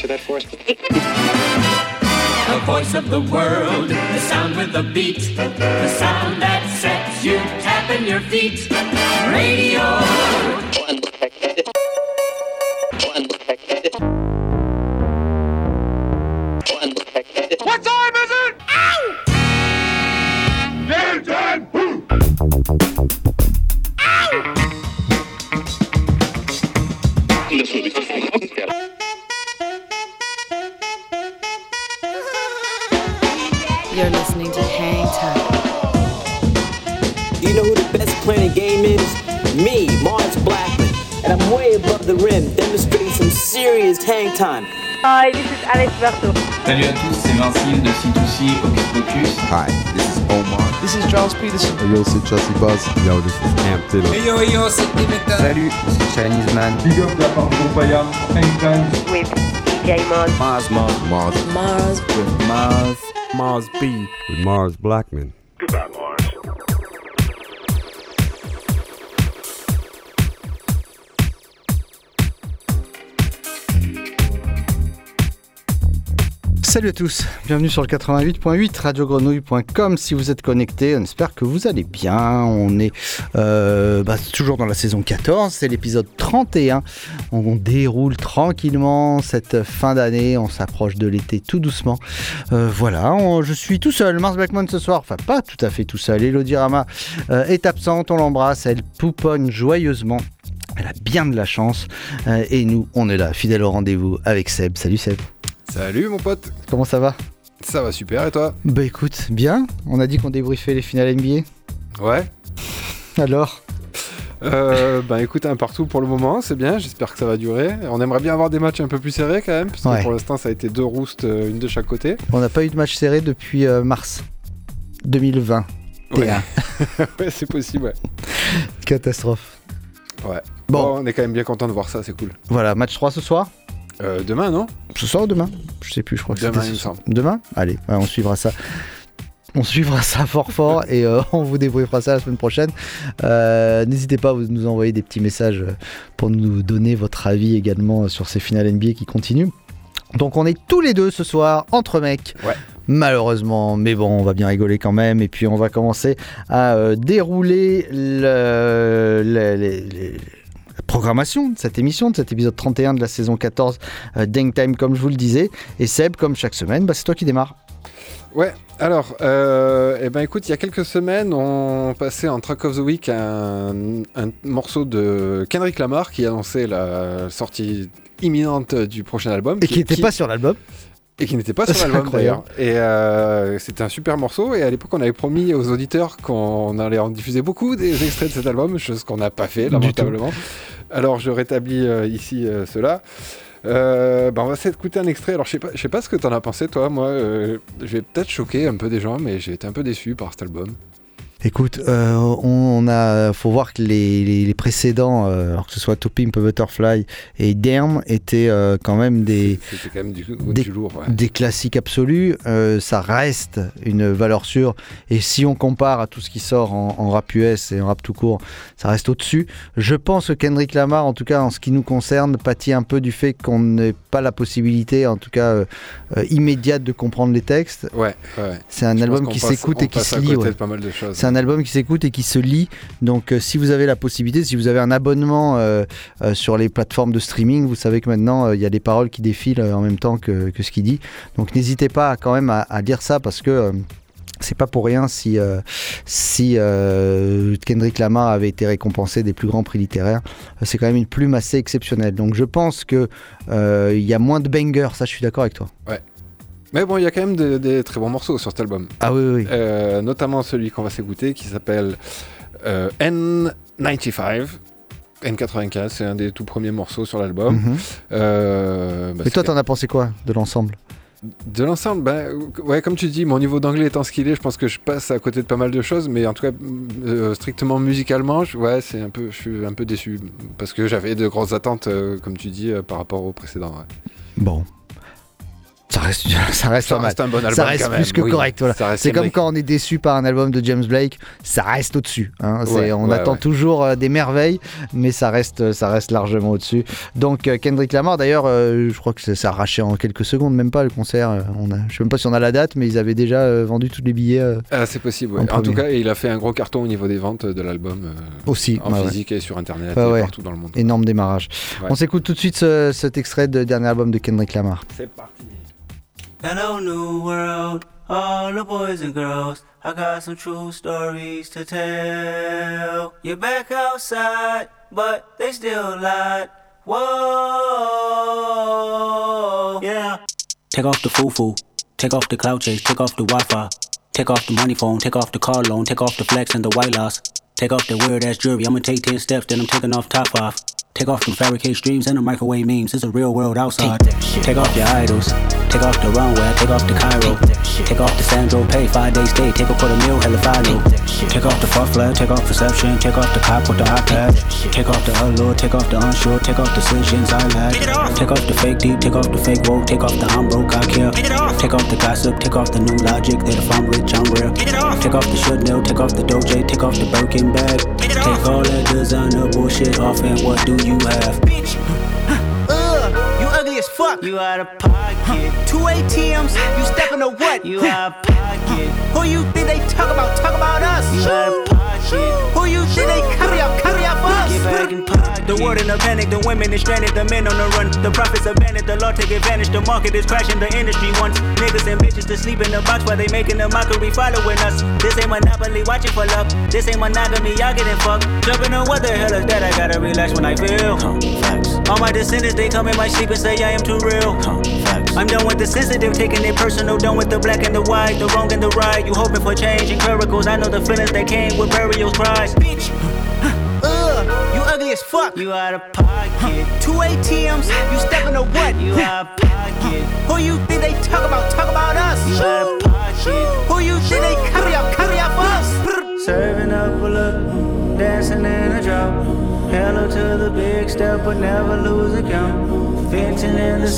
answer that for us? The voice of the world, the sound with the beat, the sound that sets you tapping your feet. Radio. What time is it? Ow! Game time! Ow! You're listening to Hang Time. You know who the best playing the game is? Me, Mars Blackman. And I'm way above the rim, demonstrating some serious hang time. Hi, this is Alex Berto. Salut à tous, c'est Vincile de C2C Hocus Pocus. Hi, this is Omar. This is Charles Peterson. Hey yo, c'est Chelsea Buzz. Yo, this is Cam Taylor. Hey yo, c'est Dimitra. Salut, c'est Chinese Man. Big up de la part de Payam, Hangtime. With DJ Mars. Mars. With Mars B. With Mars Blackman. Goodbye, Mars. Salut à tous, bienvenue sur le 88.8 radiogrenouille.com. Si vous êtes connectés, on espère que vous allez bien. On est toujours dans la saison 14, c'est l'épisode 31. On déroule tranquillement cette fin d'année, on s'approche de l'été tout doucement. Je suis tout seul, Mars Blackman ce soir, enfin pas tout à fait tout seul. Elodie Rama est absente, on l'embrasse, elle pouponne joyeusement. Elle a bien de la chance et nous, on est là, fidèle au rendez-vous avec Seb. Salut Seb. Salut mon pote. Comment ça va ? Ça va super et toi ? Bah écoute, bien. On a dit qu'on débriefait les finales NBA. Ouais. Alors ? Écoute, un partout pour le moment, c'est bien, j'espère que ça va durer. On aimerait bien avoir des matchs un peu plus serrés quand même, parce que pour l'instant ça a été 2 roustes, une de chaque côté. On n'a pas eu de match serré depuis mars 2020. Ouais, ouais c'est possible, ouais. Catastrophe. Ouais. Bon, on est quand même bien content de voir ça, c'est cool. Voilà, match 3 ce soir ? Demain, non ? Ce soir ou demain ? Je sais plus, je crois que demain, c'était il me semble. Demain ? Allez, ouais, on suivra ça. On suivra ça fort et on vous débriefera ça la semaine prochaine. N'hésitez pas à nous envoyer des petits messages pour nous donner votre avis également sur ces finales NBA qui continuent. Donc on est tous les deux ce soir entre mecs. Ouais. Malheureusement, mais bon, on va bien rigoler quand même. Et puis on va commencer à dérouler la programmation de cette émission, de cet épisode 31 de la saison 14 d'Hang Time, comme je vous le disais. Et Seb, comme chaque semaine, c'est toi qui démarre. Ouais, alors, écoute, il y a quelques semaines, on passait en Track of the Week un morceau de Kendrick Lamar qui annonçait la sortie imminente du prochain album. Et qui n'était pas sur l'album. Et qui n'était pas sur l'album d'ailleurs. Et c'était un super morceau. Et à l'époque, on avait promis aux auditeurs qu'on allait en diffuser beaucoup des extraits de cet album, chose qu'on n'a pas fait, lamentablement. Alors, je rétablis ici cela. On va essayer d'écouter un extrait. Alors, je sais pas ce que t'en as pensé, toi. Moi, je vais peut-être choquer un peu des gens, mais j'ai été un peu déçu par cet album. Écoute, faut voir que les précédents, alors que ce soit To Pimp a Butterfly et Damn, étaient quand même c'était quand même du lourd, ouais. Des classiques absolus. Ça reste une valeur sûre. Et si on compare à tout ce qui sort en rap US et en rap tout court, ça reste au-dessus. Je pense que Kendrick Lamar, en tout cas en ce qui nous concerne, pâtit un peu du fait qu'on n'ait pas la possibilité, en tout cas immédiate, de comprendre les textes. Ouais. C'est un album qui s'écoute et qui se lit. Pas mal de choses. C'est un album qui s'écoute et qui se lit. Donc si vous avez la possibilité, si vous avez un abonnement sur les plateformes de streaming, vous savez que maintenant il y a des paroles qui défilent en même temps que ce qu'il dit. Donc n'hésitez pas quand même à lire ça, parce que c'est pas pour rien si Kendrick Lamar avait été récompensé des plus grands prix littéraires. C'est quand même une plume assez exceptionnelle. Donc je pense que il y a moins de bangers, ça je suis d'accord avec toi. Ouais. Mais bon, il y a quand même des très bons morceaux sur cet album. Ah oui. Notamment celui qu'on va s'écouter qui s'appelle N95. N95, c'est un des tout premiers morceaux sur l'album. Et toi, t'en as pensé quoi de l'ensemble ? De l'ensemble, ouais, comme tu dis, mon niveau d'anglais étant ce qu'il est, je pense que je passe à côté de pas mal de choses, mais en tout cas, strictement musicalement, je suis un peu déçu, parce que j'avais de grosses attentes, comme tu dis, par rapport au précédent. Ouais. Bon. Ça reste pas mal. Un bon album, ça reste quand plus même, que oui. correct. Voilà. C'est comme quand on est déçu par un album de James Blake, ça reste au-dessus. Hein. On attend toujours des merveilles, mais ça reste largement au-dessus. Donc Kendrick Lamar, d'ailleurs, je crois que ça a arraché en quelques secondes, même pas le concert. Je sais même pas si on a la date, mais ils avaient déjà vendu tous les billets. C'est possible. Ouais. En tout cas, il a fait un gros carton au niveau des ventes de l'album. Aussi. En physique et sur Internet et partout dans le monde. Énorme démarrage. Ouais. On s'écoute tout de suite cet extrait de dernier album de Kendrick Lamar. C'est parti. Hello New World, all the boys and girls, I got some true stories to tell. You're back outside, but they still lied. Whoa, yeah. Take off the foo-foo, take off the cloud chase, take off the Wi-Fi, take off the money phone, take off the car loan, take off the flex and the white loss. Take off the weird ass jewelry, I'ma take 10 steps, then I'm taking off top 5. Take off them fabricate streams and the microwave memes, it's a real world outside. Take off your idols, take off the runway, take off the Cairo. Take off the Sandro pay, 5-day stay, take a $250,000, hella final. Take off the fuck flag, take off perception, take off the cop with the iPad. Take off the allure, take off the unsure, take off decisions I lack. Take off the fake deep, take off the fake woke, take off the I'm broke, I care. Take off the gossip, take off the new logic, that if I'm rich, I'm real. Take off the Chanel, take off the Doja, take off the Birkin bag. Take all that designer bullshit off and what do you have? Bitch, you ugly as fuck. You out of pocket. 2 ATMs, you stepping to what? You out of pocket. Who you think they talk about? Talk about us. You out of pocket. Who you think they carry out for us? Get back in pocket. The world in a panic, the women is stranded, the men on the run. The profits abandoned, the law take advantage. The market is crashing, the industry wants niggas and bitches to sleep in the box while they making a mockery following us. This ain't Monopoly, watching for love. This ain't monogamy, y'all getting fucked. Jumping on what the hell is that? I gotta relax when I feel. Facts. All my descendants, they come in my sleep and say I am too real. Facts. I'm done with the sensitive, taking it personal. Done with the black and the white, the wrong and the right. You hoping for change and miracles. I know the feelings that came with burials, cries. Bitch. You ugly as fuck. You out of pocket. 2 ATMs, you stepping to what? You out of pocket. Who you think they talk about? Talk about us. You out of pocket. Who you think they carry out for us? Serving up a look, dancing in a drop. Hello to the big step, but never lose a count. Venting in the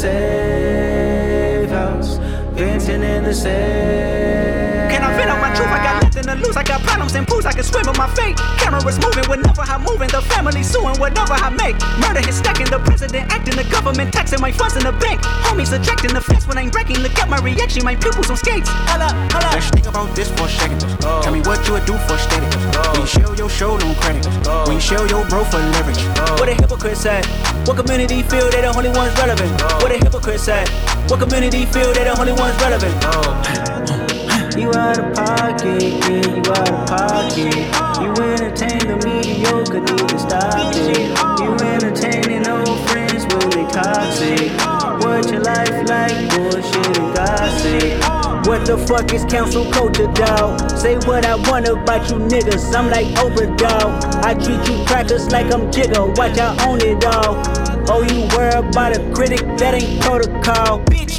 safe house. Venting in the safe. Can I vent out my truth? I got nothing to lose. I got problems and pools. I can swim with my fate. Cameras moving whenever I'm moving. The family suing whatever I make. Murder is stacking. The president acting. The government taxing my funds in the bank. Homies ejecting the fence when I'm breaking. Look at my reaction. My pupils on skates. Hold up. Let's think about this for a second. Tell me what you would do for steady. When you show your show, no credit. When you show your bro for leverage. What a hypocrite said. What community feel they the only ones relevant? What a hypocrite said. What community feel they the only ones relevant? You out of pocket, yeah, you out of pocket. You entertain the mediocre, need to stop it. You entertaining old friends when they toxic. What your life like, bullshit and gossip. What the fuck is council culture, dawg? Say what I want about you niggas, I'm like Oprah, dawg. I treat you crackers like I'm Jigga, watch I own it all. Oh, you worry about a critic, that ain't protocol, bitch.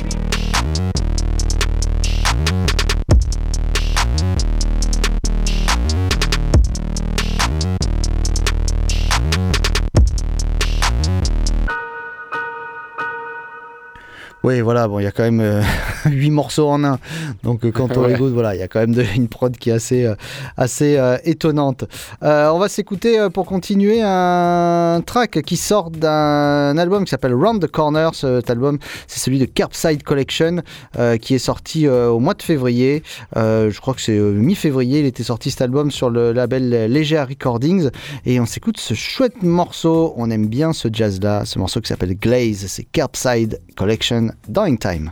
Oui, voilà, bon, il y a quand même 8 morceaux en un. Donc, quand on écoute, voilà, il y a quand même une prod qui est assez étonnante. On va s'écouter, pour continuer, un track qui sort d'un album qui s'appelle Round the Corner. Cet album, c'est celui de Curbside Collection, qui est sorti au mois de février. Je crois que c'est mi-février. Il était sorti, cet album, sur le label Leger Recordings. Et on s'écoute ce chouette morceau. On aime bien ce jazz-là. Ce morceau qui s'appelle Glaze. C'est Curbside Collection. Dying Time.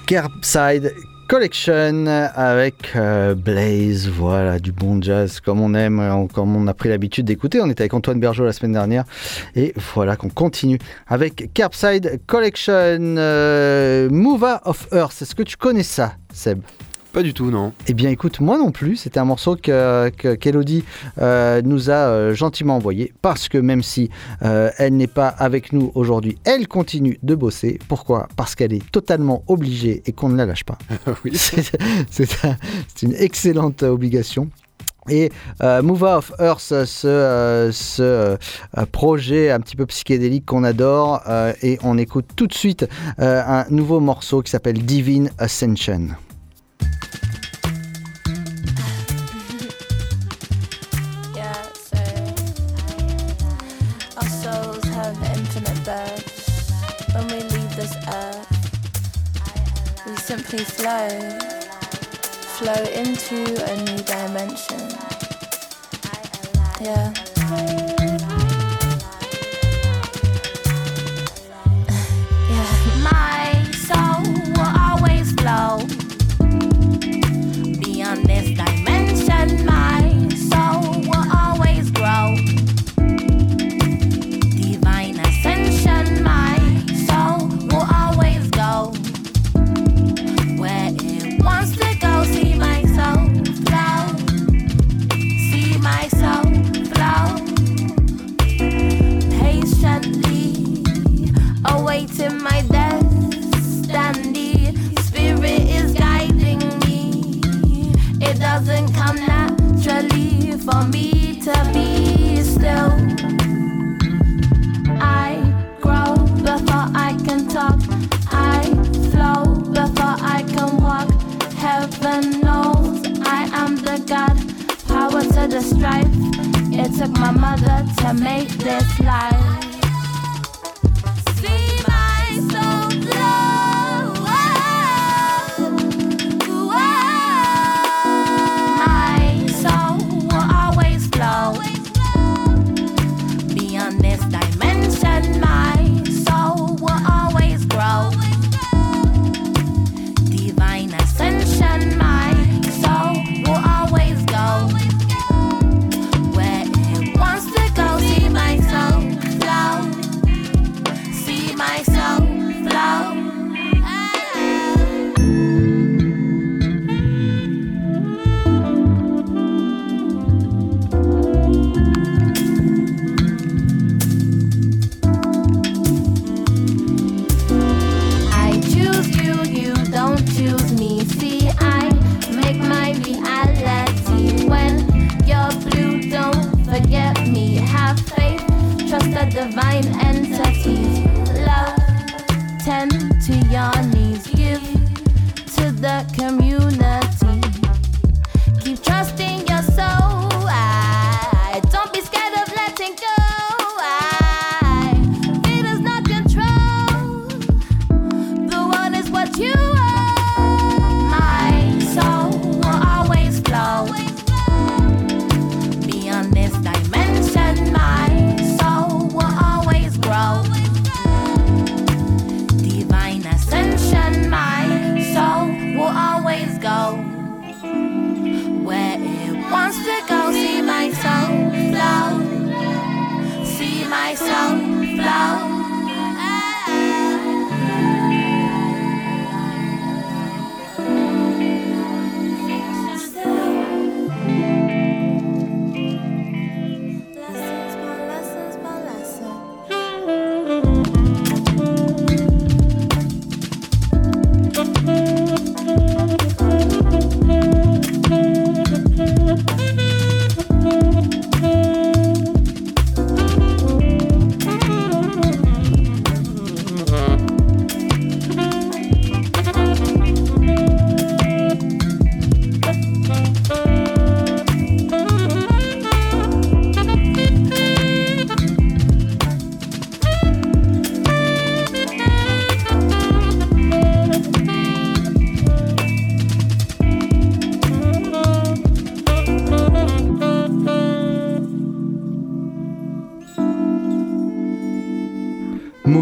Curbside Collection avec Blaze, voilà, du bon jazz comme on aime, comme on a pris l'habitude d'écouter. On était avec Antoine Bergeau la semaine dernière et voilà qu'on continue avec Curbside Collection. Mover of Earth, est-ce que tu connais ça, Seb ? Pas du tout, non. Eh bien écoute, moi non plus, c'était un morceau qu'Elodie nous a gentiment envoyé, parce que même si elle n'est pas avec nous aujourd'hui, elle continue de bosser. Pourquoi ? Parce qu'elle est totalement obligée et qu'on ne la lâche pas. Oui. C'est une excellente obligation. Et Mover of Earth, ce projet un petit peu psychédélique qu'on adore, et on écoute tout de suite un nouveau morceau qui s'appelle Divine Ascension. Simply flow into a new dimension. Yeah. My soul will always flow beyond this dimension. My soul will always grow. Divine ascension. My soul will always go where it wants to go. See my soul flow. See my soul flow. Patiently awaiting my destiny. Spirit is guiding me. It doesn't come naturally for me to be still. I grow before I can talk. I flow before I can walk. Heaven knows I am the God. Power to the strife. It took my mother to make this life. See my soul glow. My soul will always flow beyond this dimension. My soul will always grow. Divine ascension. My soul will always go where it wants to go. See my soul flow.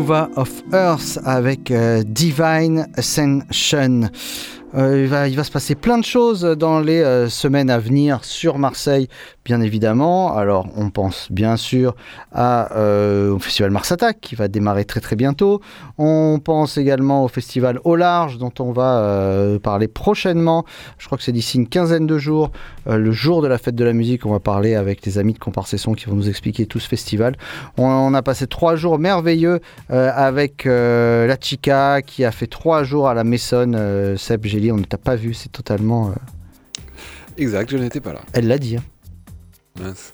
Nova of Earth avec Divine Ascension. Il va se passer plein de choses dans les semaines à venir sur Marseille, bien évidemment. Alors, on pense bien sûr au festival Mars Attack qui va démarrer très très bientôt. On pense également au festival Au Large dont on va parler prochainement. Je crois que c'est d'ici une quinzaine de jours, le jour de la fête de la musique. On va parler avec les amis de Comparse-Son qui vont nous expliquer tout ce festival. On a passé 3 jours merveilleux avec la Chica qui a fait 3 jours à la Maison. Seb, Gély, on ne t'a pas vu, c'est totalement... Exact, je n'étais pas là. Elle l'a dit. Hein. Mince.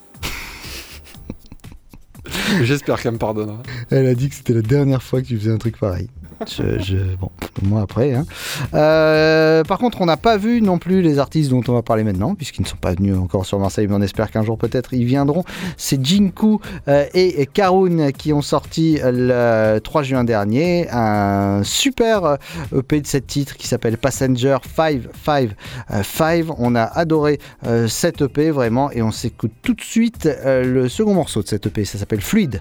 J'espère qu'elle me pardonnera. Elle a dit que c'était la dernière fois que tu faisais un truc pareil. Bon, moi après. Hein. Par contre, on n'a pas vu non plus les artistes dont on va parler maintenant, puisqu'ils ne sont pas venus encore sur Marseille, mais on espère qu'un jour peut-être ils viendront. C'est Jinku et Karun qui ont sorti le 3 juin dernier un super EP de 7 titres qui s'appelle Passenger 555. On a adoré cet EP vraiment, et on s'écoute tout de suite le second morceau de cet EP. Ça s'appelle Fluide.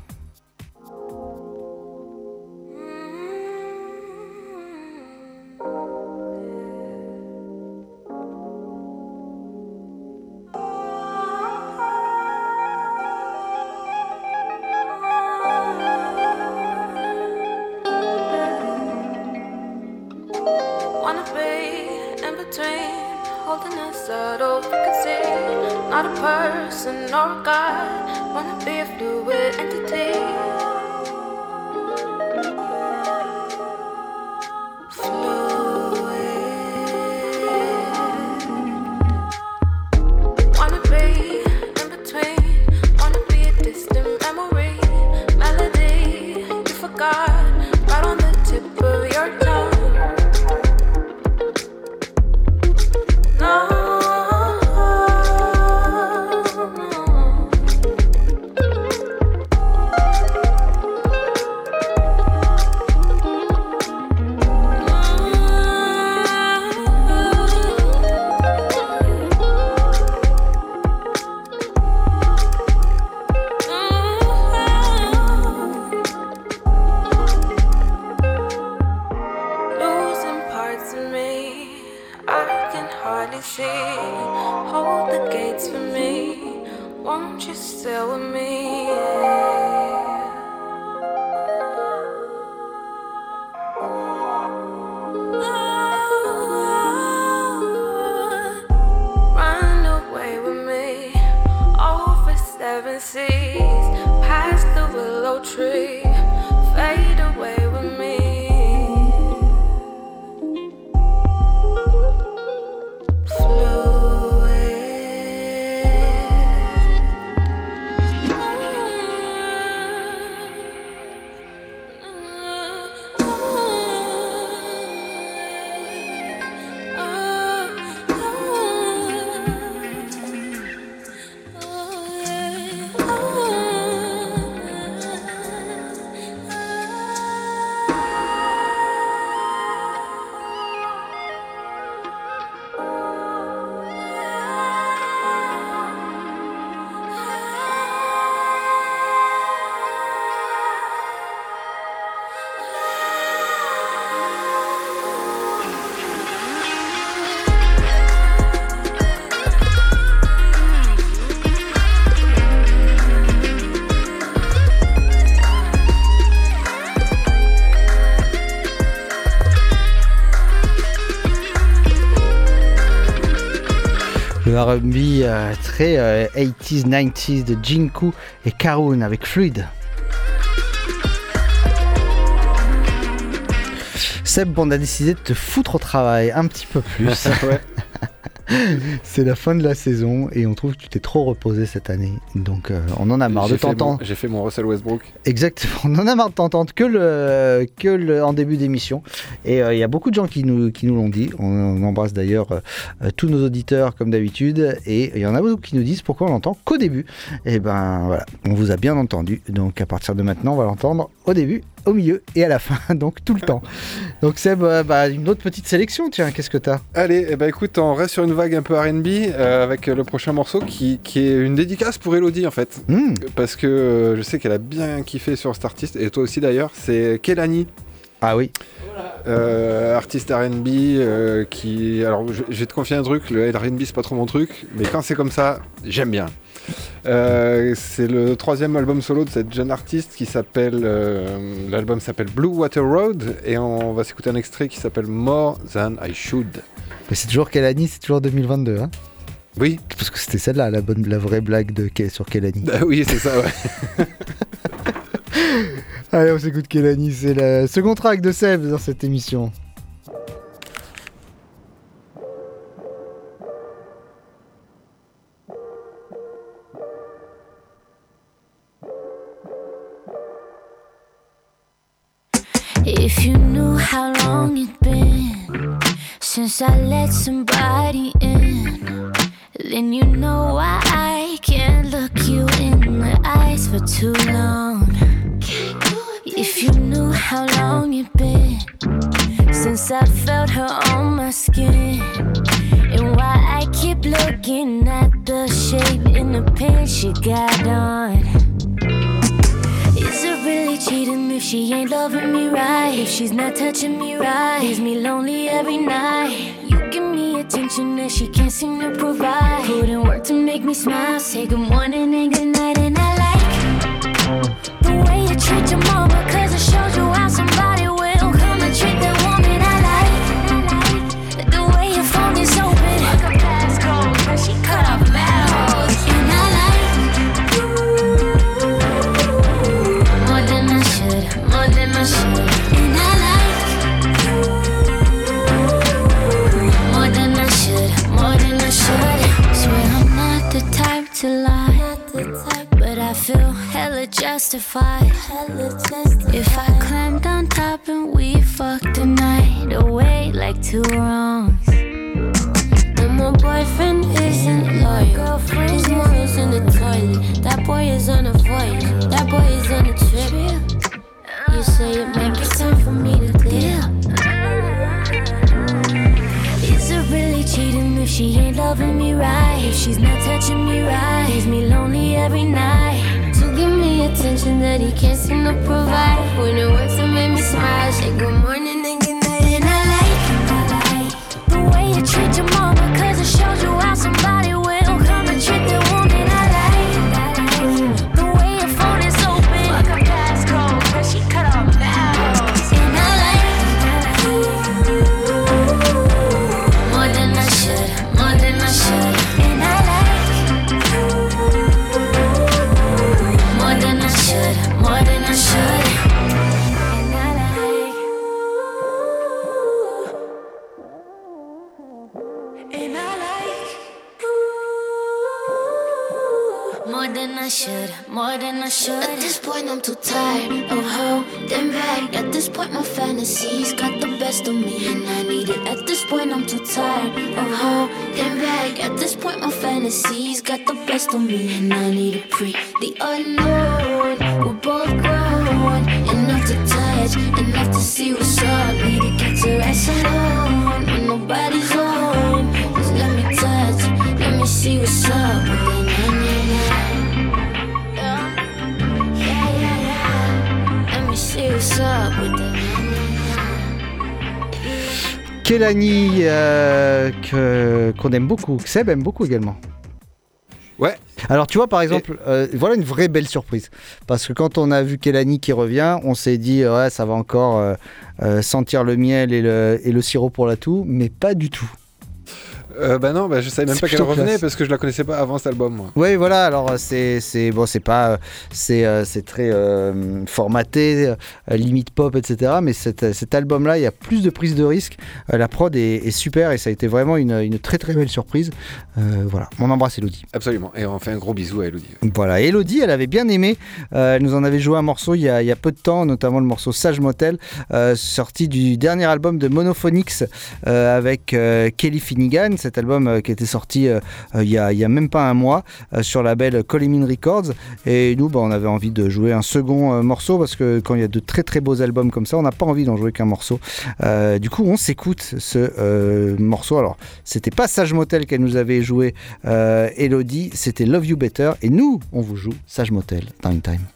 R&B très 80s, 90s de Jinku et Karun avec Fluide. Seb, on a décidé de te foutre au travail un petit peu plus. Ouais. C'est la fin de la saison et on trouve que tu t'es trop reposé cette année. Donc on en a marre de t'entendre. J'ai fait mon Russell Westbrook. Exactement, on en a marre de t'entendre que en début d'émission. Et il y a beaucoup de gens qui nous l'ont dit. On embrasse d'ailleurs tous nos auditeurs comme d'habitude. Et il y en a beaucoup qui nous disent pourquoi on l'entend qu'au début. Et ben voilà, on vous a bien entendu. Donc à partir de maintenant, on va l'entendre au début au milieu et à la fin, donc tout le temps. Donc Seb, une autre petite sélection, tiens, qu'est-ce que t'as ? Allez, écoute, on reste sur une vague un peu R&B avec le prochain morceau qui est une dédicace pour Elodie en fait. Parce que je sais qu'elle a bien kiffé sur cet artiste, et toi aussi d'ailleurs, c'est Kehlani. Ah oui. Artiste R&B qui... Alors je vais te confier un truc, le R&B c'est pas trop mon truc, mais quand c'est comme ça, j'aime bien. C'est le 3e album solo de cette jeune artiste qui s'appelle... l'album s'appelle Blue Water Road, et on va s'écouter un extrait qui s'appelle More Than I Should. Mais c'est toujours Kehlani, c'est toujours 2022, hein ? Oui. Parce que c'était celle-là, la vraie blague sur Kehlani. Oui, c'est ça, ouais. Allez, on s'écoute Kehlani, c'est le second track de Seb dans cette émission. If you knew how long it's been since I let somebody in, then you know why I can't look you in the eyes for too long. If you knew how long it's been since I felt her on my skin, and why I keep looking at the shape in the pants she got on. Is it really cheating if she ain't loving me right? If she's not touching me right, leaves me lonely every night. You give me attention that she can't seem to provide. Put in work to make me smile, say good morning and good night. And I like the way you treat your mama, cause it shows you how somebody will come and treat that woman. I like the way your phone is open, like a passcode, cause she cut off battles. And I like more than I should, more than I should. And I like more than I should, more than I should. Swear I'm not the type to lie, but I feel hella justified. If I climbed on top and we fucked the night away like two wrongs. And my boyfriend isn't loyal, girlfriend, his morals in the toilet. That boy is on a voyage, that boy is on a trip. You say it might be time for me to dip. Is it really cheating if she ain't loving me right? If she's not touching me right, leaves me lonely every night. So give me attention that he can't seem to provide. When it works to make me smile, say good morning and good night. And I like the way you treat your mama, cause it shows you how somebody will come and treat the woman. I like the way your phone is open, like a passcode, cause she cut off battles. And I like more than I should, more than I should. And I like more than I should, more than I should. And I like, and I like more than I should, more than I should. At this point I'm too tired of holding back. At this point my fantasies got the best of me and I need it. At this point I'm too tired of holding back. At this point my fantasies got the best of me and I need a pre. The unknown, we're both grown enough to touch, enough to see what's up. Need to get to rest alone when nobody's home. Just let me touch, let me see what's up with the Kehlani, qu'on aime beaucoup, que Seb aime beaucoup également. Ouais. Alors tu vois par exemple, voilà une vraie belle surprise. Parce que quand on a vu Kehlani qui revient, on s'est dit ouais ça va encore sentir le miel et le sirop pour la toux, mais pas du tout. Non, je savais même pas qu'elle revenait parce que je la connaissais pas avant cet album. Moi. Oui, voilà. Alors c'est très formaté, limite pop, etc. Mais cet album-là, il y a plus de prise de risque. La prod est super et ça a été vraiment une très très belle surprise. Voilà, on embrasse Elodie. Absolument. Et on fait un gros bisou à Elodie. Voilà, Elodie, elle avait bien aimé. Elle nous en avait joué un morceau il y a peu de temps, notamment le morceau Sage Motel, sorti du dernier album de Monophonics avec Kelly Finnegan. cet album qui était sorti il y a même pas un mois sur la label Coleman Records. Et nous, on avait envie de jouer un second morceau parce que quand il y a de très très beaux albums comme ça, on n'a pas envie d'en jouer qu'un morceau. Du coup, on s'écoute ce morceau. Alors, c'était pas Sage Motel qu'elle nous avait joué, Elodie, c'était Love You Better. Et nous, on vous joue Sage Motel dans une time.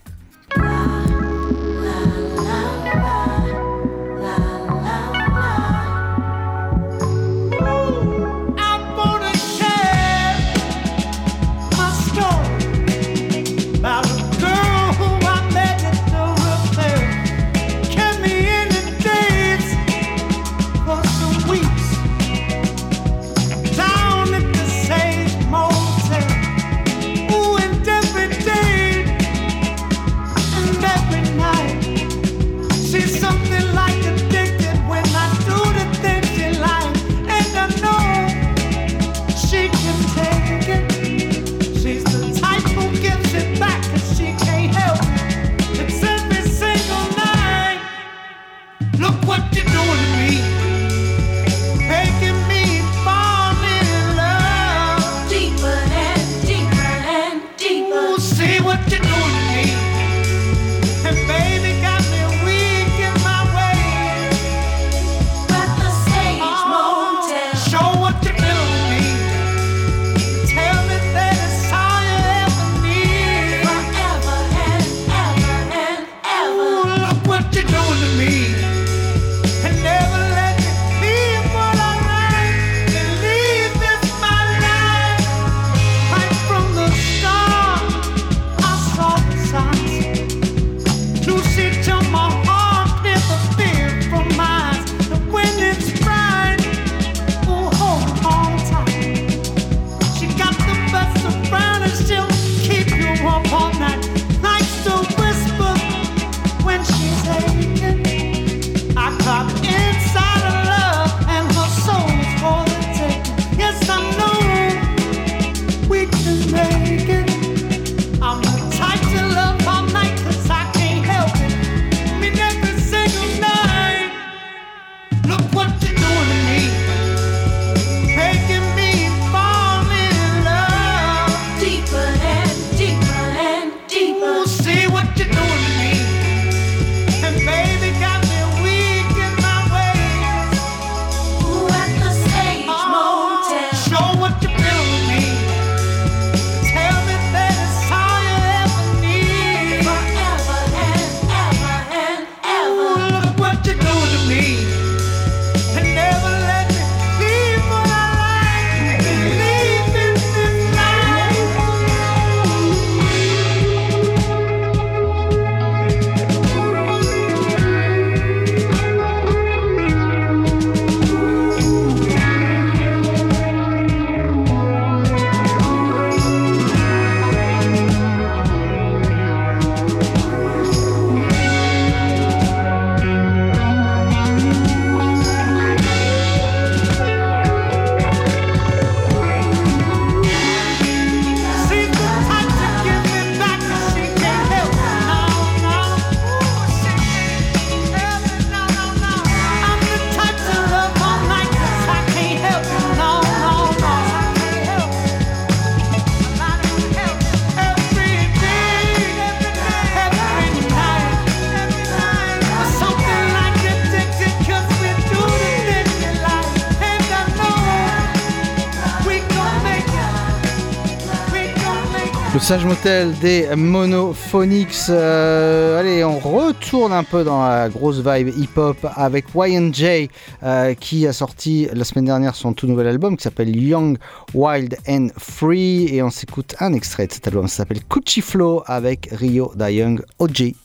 Le Sage Motel des Monophonics. Allez, on retourne un peu dans la grosse vibe hip-hop avec YNJ qui a sorti la semaine dernière son tout nouvel album qui s'appelle Young, Wild and Free. Et on s'écoute un extrait de cet album, ça s'appelle Coochie Flow avec Rio Da Young OG. Energy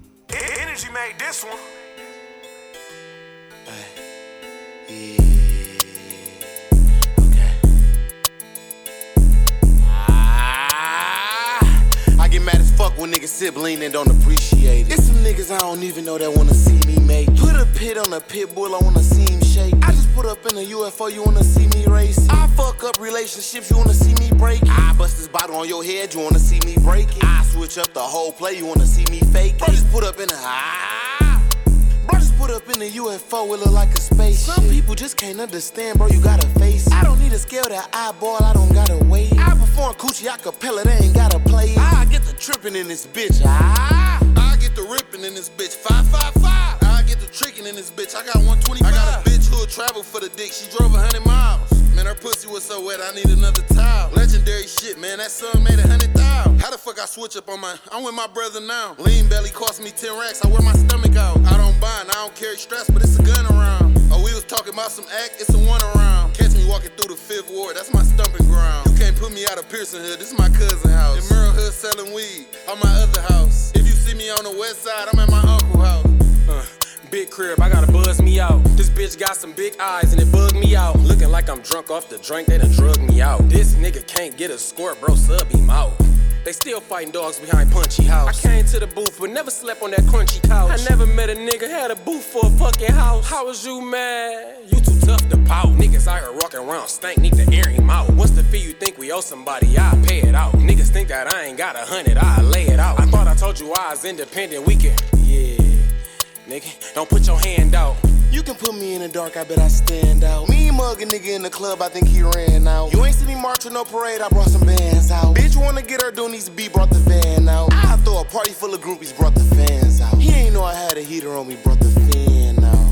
made this one. When niggas sibling and don't appreciate it. It's some niggas I don't even know that wanna see me make it. Put a pit on a pit bull, I wanna see him shake. I just put up in a UFO, you wanna see me race it. I fuck up relationships, you wanna see me break it. I bust this bottle on your head, you wanna see me break it. I switch up the whole play, you wanna see me fake it. Bro, just put up in a Bro, just put up in a UFO, it look like a spaceship. Some people just can't understand, bro, you gotta face it. I don't need to scale that eyeball, I don't gotta wait. I perform coochie acapella, they ain't gotta play. I get the trippin' in this bitch. I get the rippin' in this bitch. 555. I get the trickin' in this bitch. I got 125. I got a bitch who'll travel for the dick. She drove 100 miles. Man, her pussy was so wet, I need another towel. Legendary shit, man. That song made 100,000. How the fuck I switch up on my? I'm with my brother now. Lean belly cost me 10 racks. I wear my stomach out. I don't bind, I don't carry stress, but it's a gun around. Oh, we was talking about some act, it's a one around. Catch me walking through the 5th ward, that's my stumping ground. You can't put me out of Pearson Hood, this is my cousin house. In Merle Hood selling weed, on my other house. If you see me on the west side, I'm at my uncle's house. Big crib, I gotta buzz me out. This bitch got some big eyes and it bugged me out. Looking like I'm drunk off the drink, they done drugged me out. This nigga can't get a score, bro, sub him out. They still fighting dogs behind Punchy House. I came to the booth but never slept on that crunchy couch. I never met a nigga had a booth for a fucking house. How was you mad? You too tough to pout. Niggas out here walking around stank, need to air him out. What's the fee you think we owe somebody? I'll pay it out. Niggas think that I ain't got 100, I'll lay it out. I thought I told you I was independent, we can, yeah. Nigga, don't put your hand out. You can put me in the dark, I bet I stand out. Me mug a nigga in the club, I think he ran out. You ain't see me march with no parade, I brought some bands out. Bitch wanna get her doing these beat, brought the van out. I throw a party full of groupies, brought the fans out. He ain't know I had a heater on me, brought the fan out.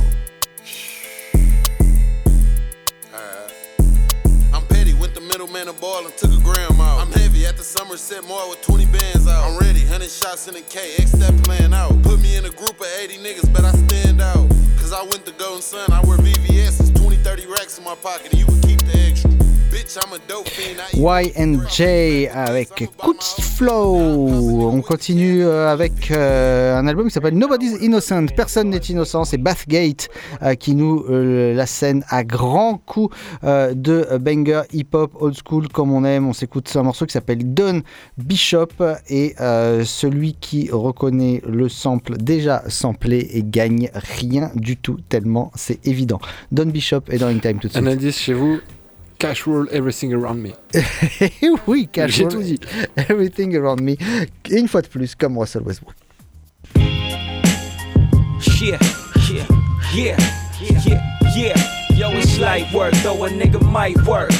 I'm petty, went the middleman a ball and took a gram out. I'm heavy at the Somerset Mall with 20 bands out. I'm ready, 100 shots in a K, X that plan out. Put me in a group of 80 niggas, bet I stand out. Cause I went to Golden Sun, I wear VVS, it's 20-30 racks in my pocket and you can keep the extra. Bitch, I'm a dope fiend. Y&J avec Kuts Flow. On continue avec un album qui s'appelle Nobody's Innocent. Personne n'est innocent. C'est Bathgate qui nous la scène à grands coups de banger hip-hop old school comme on aime. On s'écoute un morceau qui s'appelle Don Bishop et celui qui reconnaît le sample déjà samplé et gagne rien du tout tellement c'est évident. Don Bishop est dans In Time tout de suite. Un indice chez vous. Cash Roll Everything Around Me. Oui, Cash J'ai Roll tout dit. Everything Around Me. Et une fois de plus, comme Russell Westbrook. Yeah, yeah, yeah, yeah, yeah. Yo, it's light work, though a nigga might work.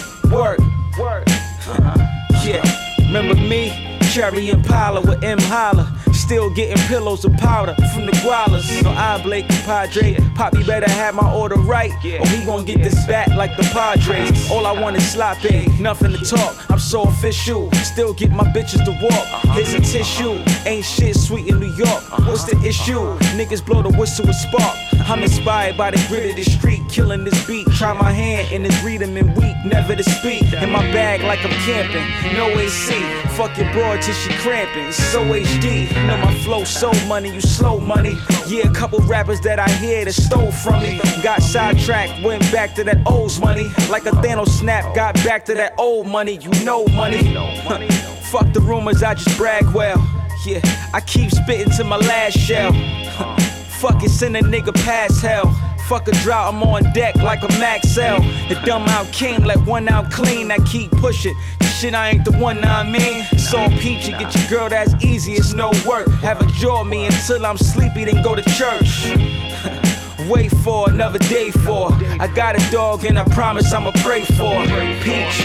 Yeah, remember me? Cherry Impala with M. Holla. Still getting pillows of powder from the Gualas. No, I Blake compadre. Poppy better have my order right, or he gon' get this back like the Padres. All I want is sloppy, nothing to talk. I'm so official. Still get my bitches to walk. Here's a tissue. Ain't shit sweet in New York. What's the issue? Niggas blow the whistle with spark. I'm inspired by the grit of the street, killing this beat. Try my hand in this rhythm and weak, never to speak. In my bag like I'm camping, no AC. Fuck your broad till she cramping. It's so HD. Know my flow so money, you slow money. Yeah, a couple rappers that I hear that stole from me. Got sidetracked, went back to that old money. Like a Thanos snap, got back to that old money. You know money. Fuck the rumors, I just brag well. Yeah, I keep spitting to my last shell. Fuck it, send a nigga past hell. Fuck a drought, I'm on deck like a Maxell. The dumb out king, like one out clean, I keep pushing. Shit, I ain't the one, nah, I mean. It's on peachy, get your girl, that's easy, it's no work. Have a jaw me until I'm sleepy, then go to church. Wait for another day for. I got a dog and I promise I'ma pray for. Peach,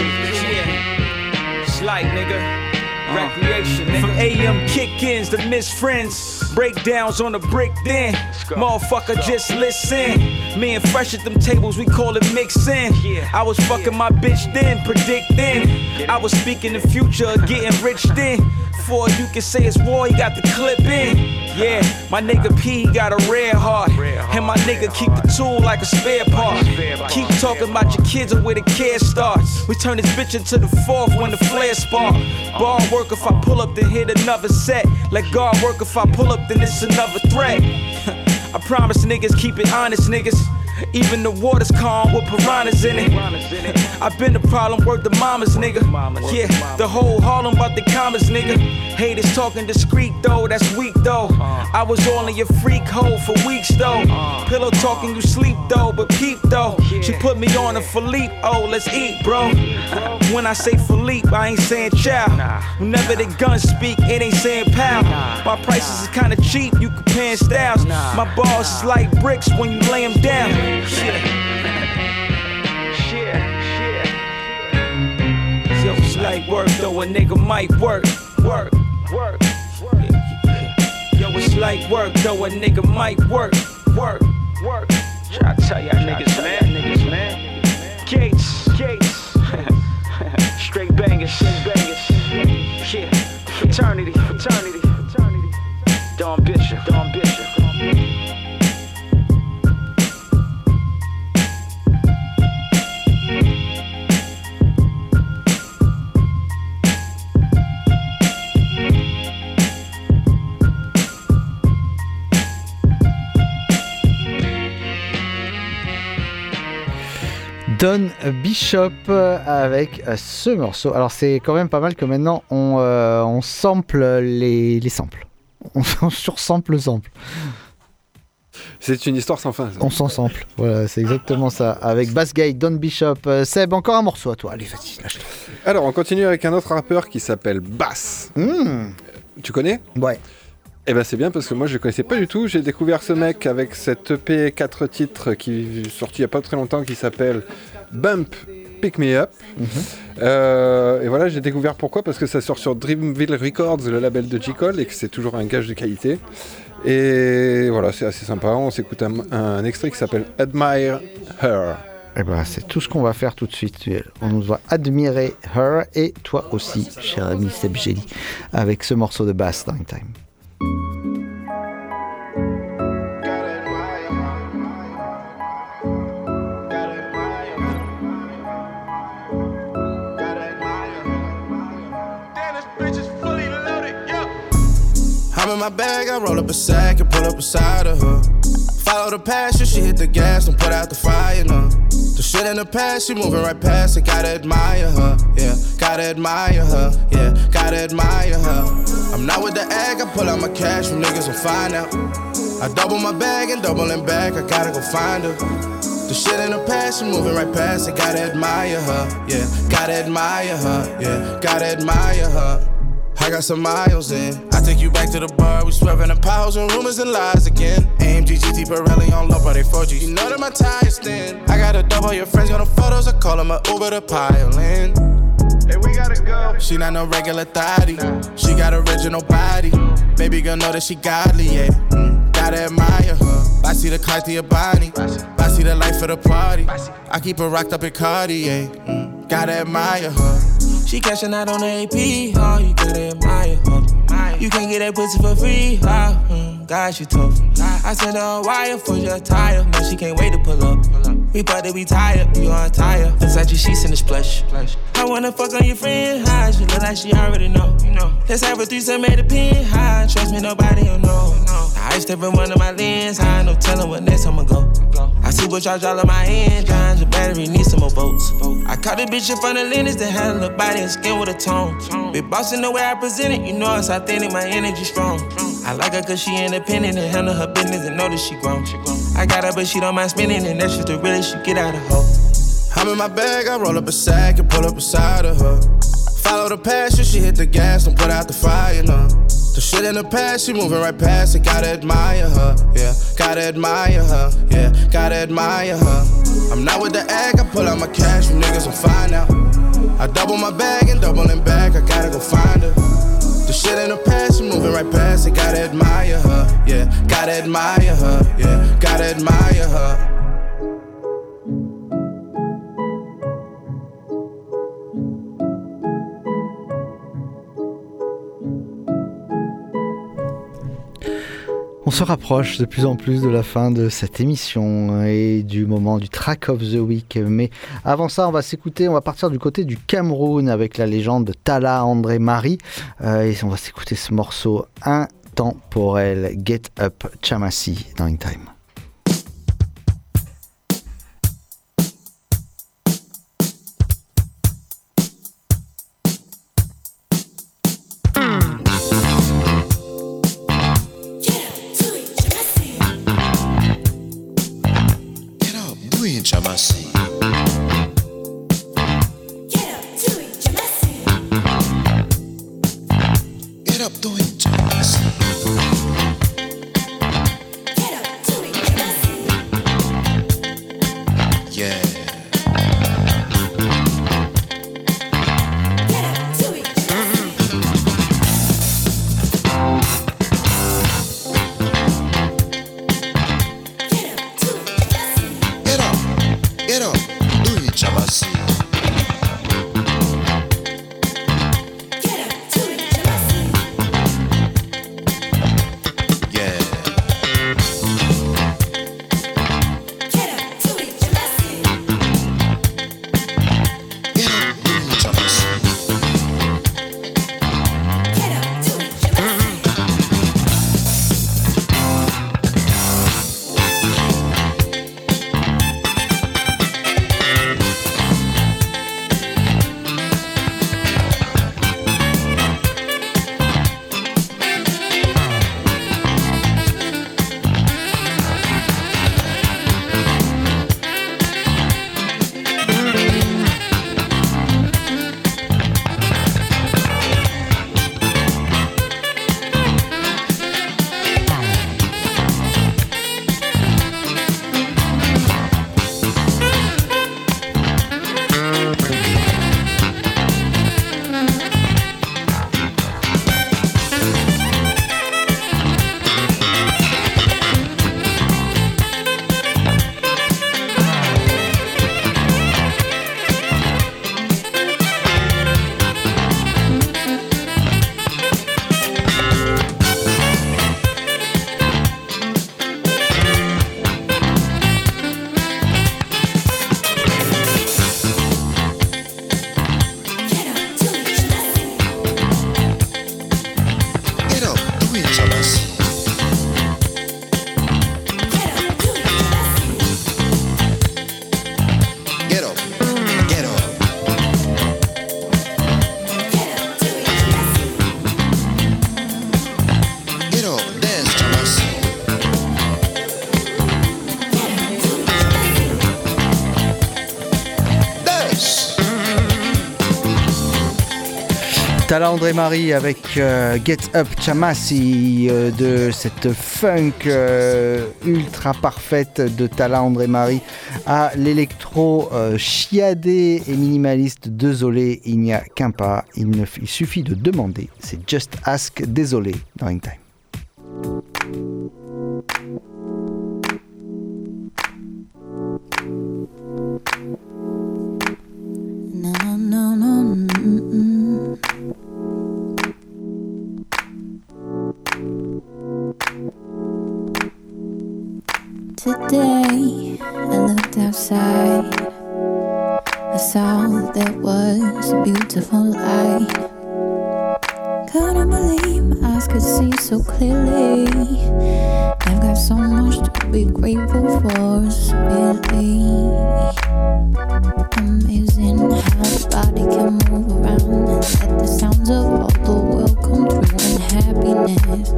yeah. Slight nigga. Recreation, nigga. From AM kick-ins to miss friends. Breakdowns on the brick then. Motherfucker, just listen. Me and Fresh at them tables, we call it mixin'. I was fucking my bitch then, predicting. I was speaking the future, getting rich then. Before you can say it's war, he got the clip in. Yeah, my nigga P got a rare heart. And my nigga keep the tool like a spare part. Keep talking about your kids and where the care starts. We turn this bitch into the fourth when the flare spark. Ball work if I pull up, then hit another set. Let God work if I pull up, then it's another threat. I promise niggas keep it honest, niggas. Even the water's calm with piranhas in it. I've been the problem, worth the mamas, nigga. Yeah, the whole Harlem about the commas, nigga. Haters talking discreet though, that's weak though. I was all in your freak hole for weeks though. Pillow talking, you sleep though, but peep though. She put me on a Philippe, oh, let's eat, bro. When I say Philippe, I ain't saying chow. Whenever the guns speak, it ain't saying pow. My prices is kinda cheap, you comparing styles. My balls is like bricks when you lay them down. light work, though a nigga might work. Yo, it's light work, though a nigga might work. Try to tell y'all niggas, man. Gates. Straight bangers. Yeah, fraternity. Don Bishop. Don Bishop avec ce morceau. Alors c'est quand même pas mal que maintenant on sample les samples. On sursample le sample. C'est une histoire sans fin. Ça. On s'en sample. Voilà, c'est exactement ça. Avec Bassgate, Don Bishop. Seb, encore un morceau à toi. Allez, vas-y, lâche-toi. Alors, on continue avec un autre rappeur qui s'appelle Bass. Tu connais ? Ouais. Eh ben c'est bien parce que moi je ne connaissais pas du tout. J'ai découvert ce mec avec cette EP 4 titres qui est sorti il n'y a pas très longtemps qui s'appelle Bump Pick Me Up. Et voilà, j'ai découvert pourquoi, parce que ça sort sur Dreamville Records, le label de J. Cole, et que c'est toujours un gage de qualité. Et voilà, c'est assez sympa. On s'écoute un extrait qui s'appelle Admire Her. Et ben c'est tout ce qu'on va faire tout de suite. On nous va admirer Her, et toi aussi, cher ami Seb Gély, avec ce morceau de Bass Time Time. I'm in my bag, I roll up a sack and pull up beside of her. Follow the passion, she hit the gas, don't put out the fire, no. The shit in the past, she moving right past it, gotta admire her, yeah. Gotta admire her, yeah, gotta admire her. I'm not with the egg, I pull out my cash from niggas and find out. I double my bag and doubling back, I gotta go find her. The shit in the past, she moving right past it, gotta admire her, yeah. Gotta admire her, yeah, gotta admire her. I got some miles in. I take you back to the bar. We swerving the piles and rumors and lies again. AMG GT Pirelli on low, but they 4G. You know that my tires thin. I got a double. Your friends got no photos. I call them a Uber to pile in. Hey, we gotta go. She not no regular thotty. She got original body. Baby girl know that she godly, yeah. Gotta admire her. I see the Cartier Bonnie. I see the life of the party. I keep her rocked up in Cartier. Gotta admire her. She cashing out on the AP, oh, you gotta admire her. You can't get that pussy for free, oh, God, she tough. I sent her a wire for your tire, man, she can't wait to pull up. We bout to be tired, you on tire. Inside your sheets in the splash. I wanna fuck on your friend, high, she look like she already know. Let's have a threesome at the pin, high, trust me, nobody will know. I step in one of my lens, high, no telling what next I'ma go. I supercharge all of my engines, the battery needs some more volts. I caught a bitch in front of Lennox that had a little body and skin with a tone. Big boss in the way I present it, you know it's authentic, my energy strong. I like her cause she independent and handle her business and know that she grown. I got her but she don't mind spending and that's just the realest she get out of her. I'm in my bag, I roll up a sack and pull up beside of her. Follow the passion, she hit the gas, don't put out the fire, no. The shit in the past, she moving right past it, gotta admire her, yeah. Gotta admire her, yeah, gotta admire her. I'm not with the egg, I pull out my cash from niggas and find out. I double my bag and doubling back, I gotta go find her. The shit in the past, she moving right past it, gotta admire her, yeah. Gotta admire her, yeah, gotta admire her. On se rapproche de plus en plus de la fin de cette émission et du moment du Track of the Week. Mais avant ça, on va partir du côté du Cameroun avec la légende Talla André Marie. Et on va s'écouter ce morceau intemporel, Get Up Chamasi dans In Time. Tala André Marie avec Get Up Chamasi de cette funk ultra parfaite de Tala André Marie à l'électro chiadé et minimaliste. Désolé, il n'y a qu'un pas, il suffit de demander. C'est Just Ask Désolé dans Hang Time. Today, I looked outside. I saw there was a beautiful light. Couldn't believe my eyes could see so clearly. I've got so much to be grateful for, really. Amazing how the body can move around and let the sounds of all the world come through in happiness.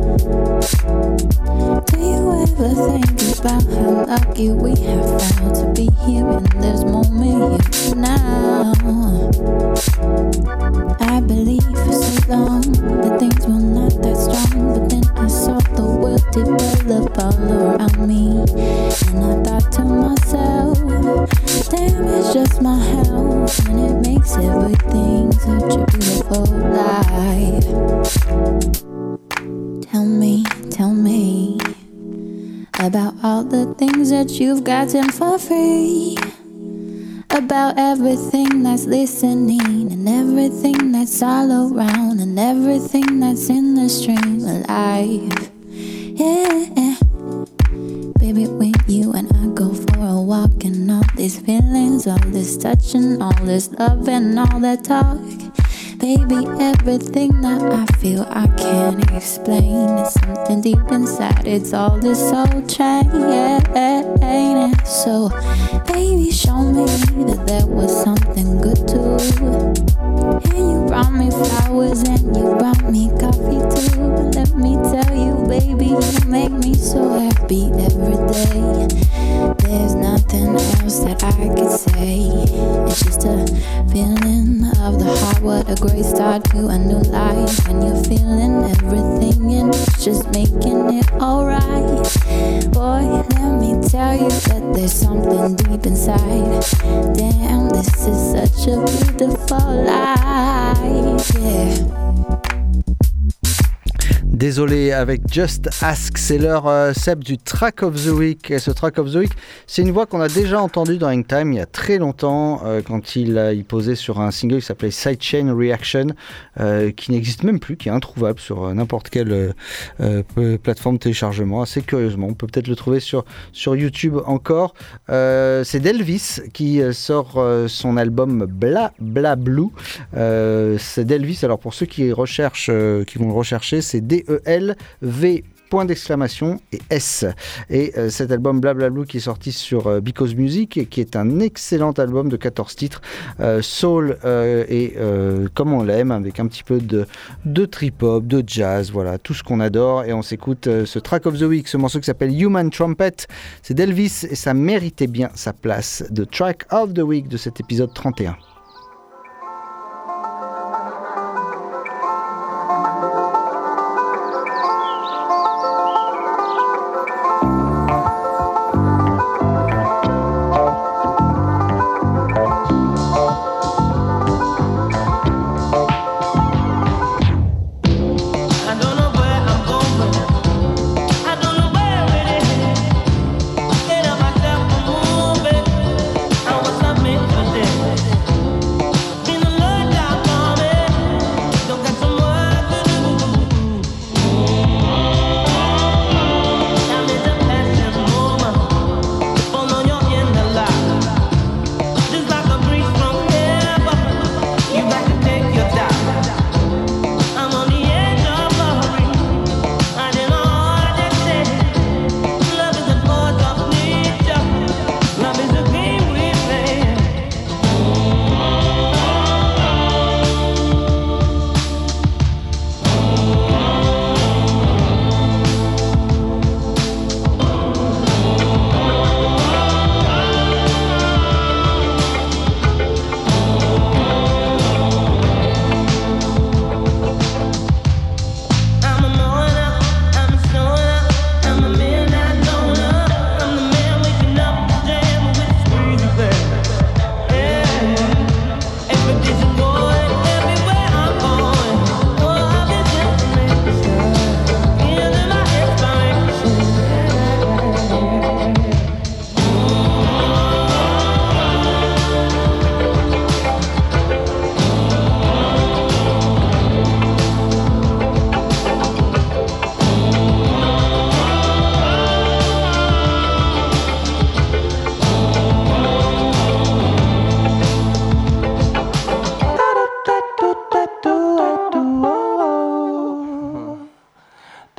Do you ever think about how lucky we have found to be here in this moment here now? I believed for so long that things were not that strong, but then I saw the world develop all around me, and I thought to myself, damn, it's just my health, and it makes everything such a beautiful life. Tell me about all the things that you've gotten for free, about everything that's listening and everything that's all around and everything that's in the stream of life. Yeah, baby, when you and I go for a walk and all these feelings, all this touching, all this love and all that talk, baby, everything that I feel I can't explain. It's something deep inside, it's all this soul train. So, baby, show me that there was something good too. And you brought me flowers and you brought me coffee too. Let me tell you, baby, you make me so happy every day. There's nothing else that I could say. It's just a feeling of the heart. What a great start to a new life. When you're feeling everything and it's just making it alright. Boy, let me tell you that there's something deep inside. Damn, this is such a beautiful life. Yeah. Désolé avec Just Ask, c'est l'heure Seb du Track of the Week. Et ce Track of the Week, c'est une voix qu'on a déjà entendue dans Hang Time il y a très longtemps quand il posait sur un single qui s'appelait Sidechain Reaction, qui n'existe même plus, qui est introuvable sur n'importe quelle plateforme de téléchargement. Assez curieusement, on peut peut-être le trouver sur YouTube encore. C'est Delvis qui sort son album Bla Bla Blue. C'est Delvis, alors pour ceux qui recherchent, qui vont le rechercher, c'est DELV point d'exclamation et S. Et cet album Blablablu qui est sorti sur Because Music et qui est un excellent album de 14 titres, soul et comme on l'aime, avec un petit peu de trip-hop, de jazz, voilà, tout ce qu'on adore. Et on s'écoute ce Track of the Week, ce morceau qui s'appelle Human Trumpet. C'est d'Elvis et ça méritait bien sa place de Track of the Week de cet épisode 31. I was not meant for this.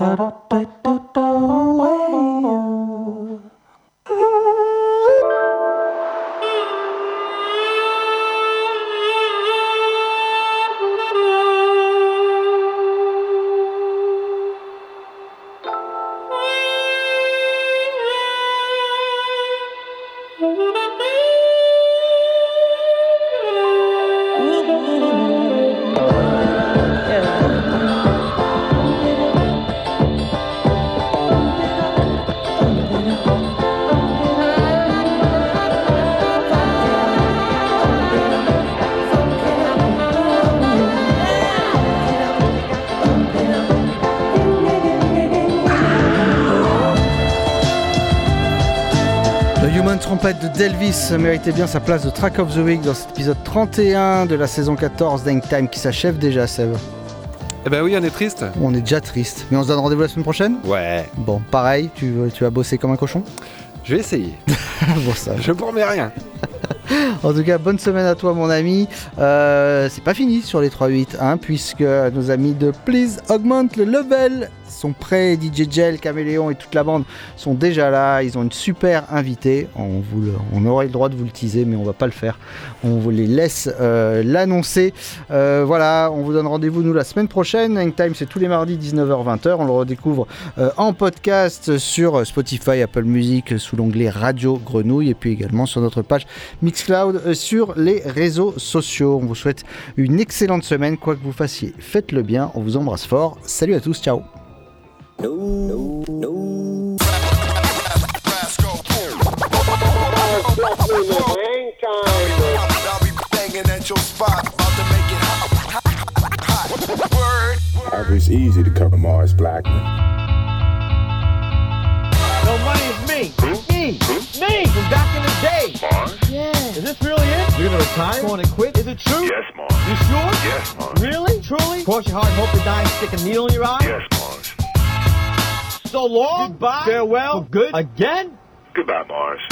Trompette de Delvis méritait bien sa place de Track of the Week dans cet épisode 31 de la saison 14 d'Hang Time qui s'achève déjà, Seb. Eh ben oui, on est triste. On est déjà triste. Mais on se donne rendez-vous la semaine prochaine ? Ouais. Bon, pareil, tu vas bosser comme un cochon ? Je vais essayer. Bon, ça. Je promets rien. En tout cas, bonne semaine à toi, mon ami. C'est pas fini sur les 3-8, hein, puisque nos amis de Please Augment le Level sont prêts. DJ Gel, Caméléon et toute la bande sont déjà là. Ils ont une super invitée. On aurait le droit de vous le teaser, mais on va pas le faire. On vous les laisse l'annoncer. Voilà, on vous donne rendez-vous nous la semaine prochaine. Hang Time, c'est tous les mardis 19h-20h. On le redécouvre en podcast sur Spotify, Apple Music sous l'onglet Radio Grenouille et puis également sur notre page Mixcloud sur les réseaux sociaux. On vous souhaite une excellente semaine, quoi que vous fassiez. Faites-le bien, on vous embrasse fort. Salut à tous, ciao. It's easy to cover Mars Blackman. No, money's me. Me from back in the day. Mars? Yeah. Is this really it? You're gonna retire? Going to quit? Is it true? Yes, Mars. You sure? Yes, Mars. Really? Truly? Cross your heart and hope to die and stick a needle in your eye? Yes, Mars. So long. Goodbye. Farewell. For good. Again? Goodbye, Mars.